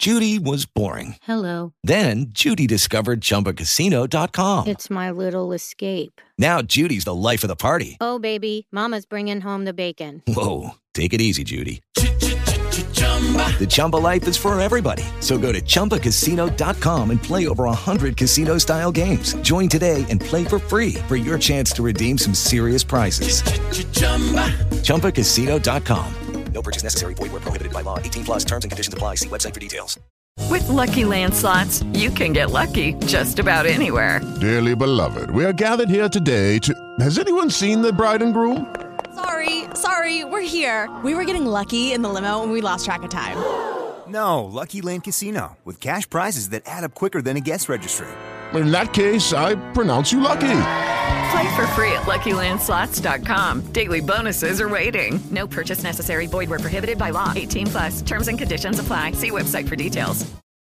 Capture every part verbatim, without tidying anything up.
Judy was boring. Hello. Then Judy discovered Chumba Casino dot com. It's my little escape. Now Judy's the life of the party. Oh, baby, mama's bringing home the bacon. Whoa, take it easy, Judy. The Chumba life is for everybody. So go to Chumba Casino dot com and play over one hundred casino-style games. Join today and play for free for your chance to redeem some serious prizes. Chumba Casino dot com. No purchase necessary. Void where prohibited by law. eighteen plus terms and conditions apply. See website for details. With Lucky Land Slots, you can get lucky just about anywhere. Dearly beloved, we are gathered here today to... Has anyone seen the bride and groom? Sorry, sorry, we're here. We were getting lucky in the limo and we lost track of time. No, Lucky Land Casino, with cash prizes that add up quicker than a guest registry. In that case, I pronounce you lucky. Play for free at Lucky Land Slots dot com. Daily bonuses are waiting. No purchase necessary. Void where prohibited by law. eighteen plus. Terms and conditions apply. See website for details.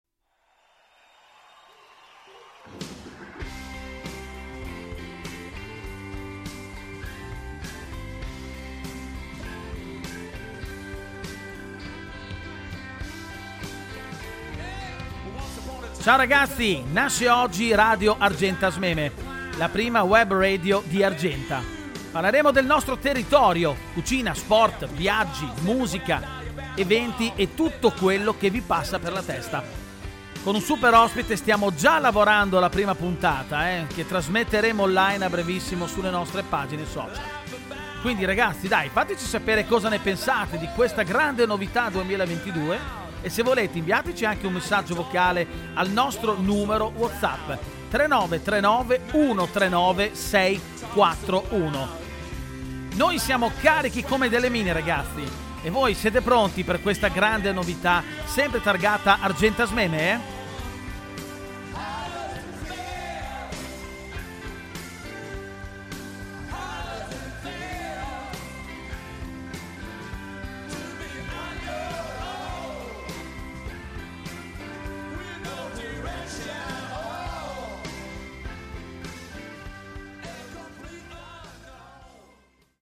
Ciao ragazzi, nasce oggi Radio Argentasmeme, la prima web radio di Argenta. Parleremo del nostro territorio, cucina, sport, viaggi, musica, eventi e tutto quello che vi passa per la testa. Con un super ospite stiamo già lavorando alla prima puntata, eh, che trasmetteremo online a brevissimo sulle nostre pagine social. Quindi ragazzi, dai, fateci sapere cosa ne pensate di questa grande novità duemilaventidue. E se volete inviateci anche un messaggio vocale al nostro numero WhatsApp tre nove tre nove uno tre nove sei quattro uno. Noi siamo carichi come delle mine ragazzi, e voi siete pronti per questa grande novità sempre targata Argentasmeme, eh?